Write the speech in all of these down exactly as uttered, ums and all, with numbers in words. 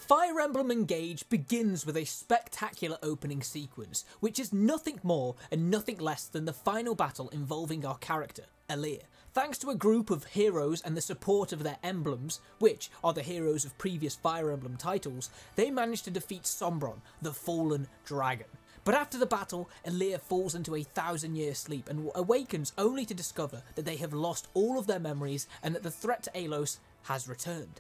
Fire Emblem Engage begins with a spectacular opening sequence, which is nothing more and nothing less than the final battle involving our character, Alear. Thanks to a group of heroes and the support of their emblems, which are the heroes of previous Fire Emblem titles, they manage to defeat Sombron, the fallen dragon. But after the battle, Alear falls into a thousand year sleep and awakens only to discover that they have lost all of their memories and that the threat to Alos has returned.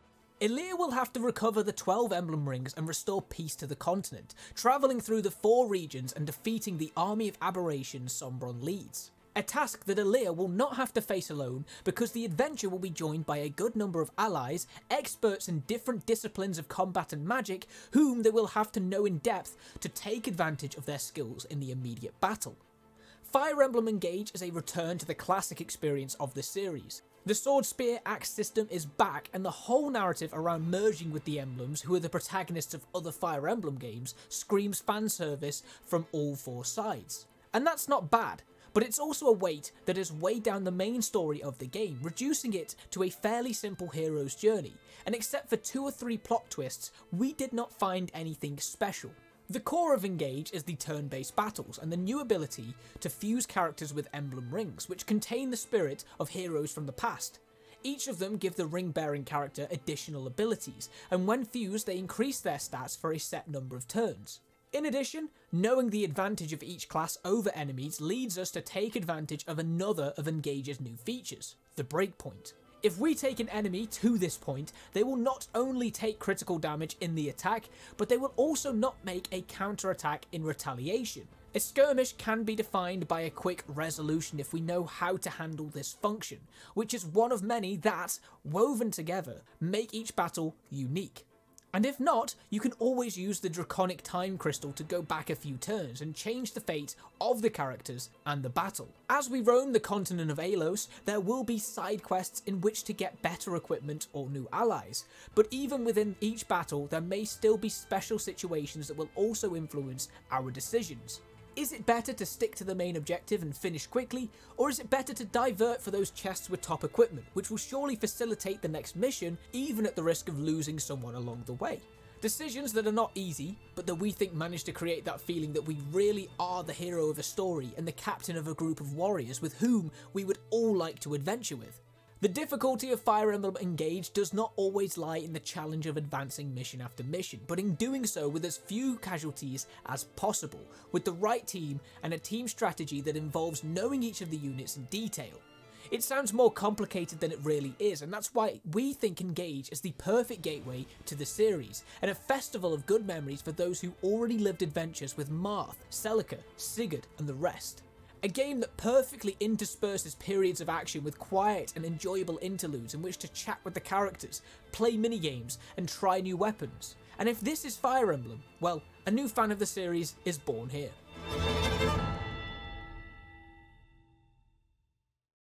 Alear will have to recover the twelve emblem rings and restore peace to the continent, travelling through the four regions and defeating the army of aberrations Sombron leads. A task that Alear will not have to face alone, because the adventure will be joined by a good number of allies, experts in different disciplines of combat and magic, whom they will have to know in depth to take advantage of their skills in the immediate battle. Fire Emblem Engage is a return to the classic experience of the series. The Sword Spear Axe system is back, and the whole narrative around merging with the emblems, who are the protagonists of other Fire Emblem games, screams fan service from all four sides. And that's not bad. But it's also a weight that has weighed down the main story of the game, reducing it to a fairly simple hero's journey, and except for two or three plot twists, we did not find anything special. The core of Engage is the turn-based battles, and the new ability to fuse characters with emblem rings, which contain the spirit of heroes from the past. Each of them give the ring-bearing character additional abilities, and when fused they increase their stats for a set number of turns. In addition, knowing the advantage of each class over enemies leads us to take advantage of another of Engage's new features, the breakpoint. If we take an enemy to this point, they will not only take critical damage in the attack, but they will also not make a counter-attack in retaliation. A skirmish can be defined by a quick resolution if we know how to handle this function, which is one of many that, woven together, make each battle unique. And if not, you can always use the Draconic Time Crystal to go back a few turns and change the fate of the characters and the battle. As we roam the continent of Alos, there will be side quests in which to get better equipment or new allies, but even within each battle there may still be special situations that will also influence our decisions. Is it better to stick to the main objective and finish quickly, or is it better to divert for those chests with top equipment, which will surely facilitate the next mission, even at the risk of losing someone along the way? Decisions that are not easy, but that we think manage to create that feeling that we really are the hero of a story and the captain of a group of warriors with whom we would all like to adventure with. The difficulty of Fire Emblem Engage does not always lie in the challenge of advancing mission after mission, but in doing so with as few casualties as possible, with the right team and a team strategy that involves knowing each of the units in detail. It sounds more complicated than it really is, and that's why we think Engage is the perfect gateway to the series, and a festival of good memories for those who already lived adventures with Marth, Celica, Sigurd and the rest. A game that perfectly intersperses periods of action with quiet and enjoyable interludes in which to chat with the characters, play minigames, and try new weapons. And if this is Fire Emblem, well, a new fan of the series is born here.